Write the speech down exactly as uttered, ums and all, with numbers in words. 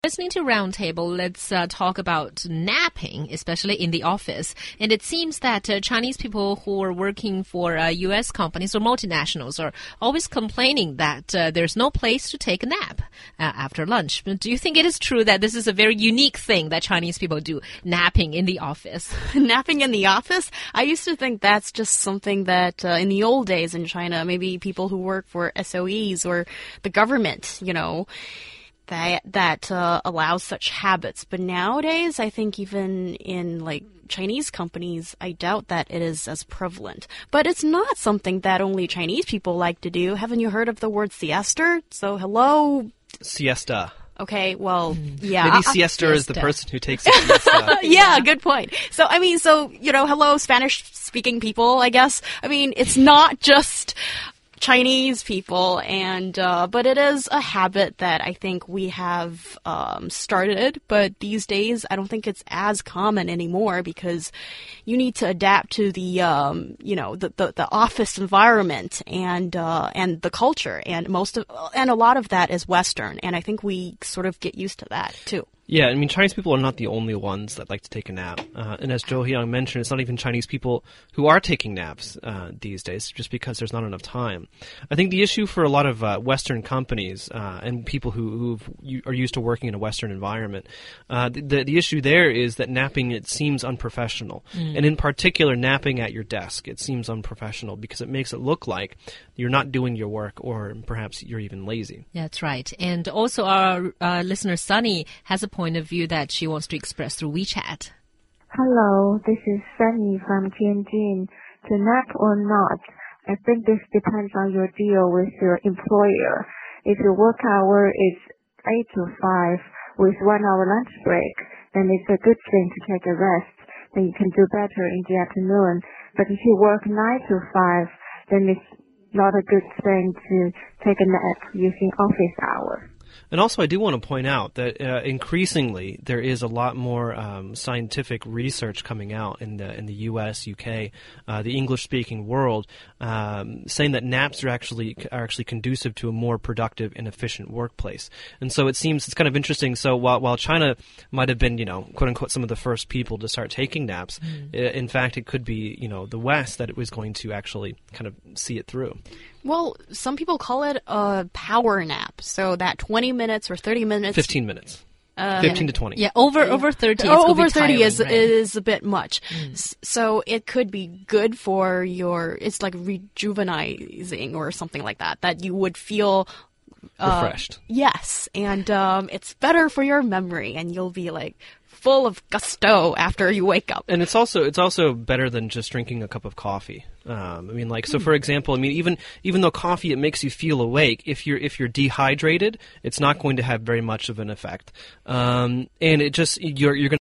Listening to Roundtable, let's uh, talk about napping, especially in the office. And it seems that uh, Chinese people who are working for uh, U S companies or multinationals are always complaining that uh, there's no place to take a nap uh, after lunch. Do you think it is true that this is a very unique thing that Chinese people do, napping in the office? Napping in the office? I used to think that's just something that uh, in the old days in China, maybe people who work for S O Es or the government, you know, that that uh, allows such habits. But nowadays, I think even in like Chinese companies, I doubt that it is as prevalent. But it's not something that only Chinese people like to do. Haven't you heard of the word siesta? So hello. Siesta. Okay, well, yeah. Maybe siesta is the person who takes a siesta. Yeah, good point. So, I mean, so, you know, hello, Spanish-speaking people, I guess. I mean, it's not just Chinese people, and uh, but it is a habit that I think we have um, started, but these days I don't think it's as common anymore because you need to adapt to the um, you know the, the the office environment and uh, and the culture, and most of and a lot of that is Western, and I think we sort of get used to that too. Yeah, I mean, Chinese people are not the only ones that like to take a nap. Uh, and as Zhou Hyang mentioned, it's not even Chinese people who are taking naps uh, these days just because there's not enough time. I think the issue for a lot of uh, Western companies uh, and people who who are used to working in a Western environment, uh, the, the issue there is that napping, it seems unprofessional. Mm. And in particular, napping at your desk, it seems unprofessional because it makes it look like you're not doing your work or perhaps you're even lazy. That's right. And also our uh, listener Sunny has a point point of view that she wants to express through WeChat. Hello, this is Sunny from Tianjin. To nap or not, I think this depends on your deal with your employer. If your work hour is eight to five with one hour lunch break, then it's a good thing to take a rest. Then you can do better in the afternoon. But if you work nine to five, then it's not a good thing to take a nap using office hours. And also, I do want to point out that uh, increasingly there is a lot more um, scientific research coming out in the in the U S, U K, uh, the English-speaking world, um, saying that naps are actually are actually conducive to a more productive and efficient workplace. And so it seems it's kind of interesting. So while while China might have been, you know, quote unquote, some of the first people to start taking naps, mm. in fact, it could be, you know, the West that it was going to actually kind of see it through. Well, some people call it a power nap. So that twenty minutes or thirty minutes. fifteen minutes. Uh, fifteen to twenty. Yeah, over over thirty. Oh, over thirty tiring, is right? is a bit much. Mm. So it could be good for your. It's like rejuvenizing or something like that. That you would feel uh, refreshed. Yes, and um, it's better for your memory, and you'll be like full of gusto after you wake up. And it's also it's also better than just drinking a cup of coffee. Um, I mean, like, so for example, I mean, even even though coffee, it makes you feel awake, if you're if you're dehydrated, it's not going to have very much of an effect. Um, and it just you're you're going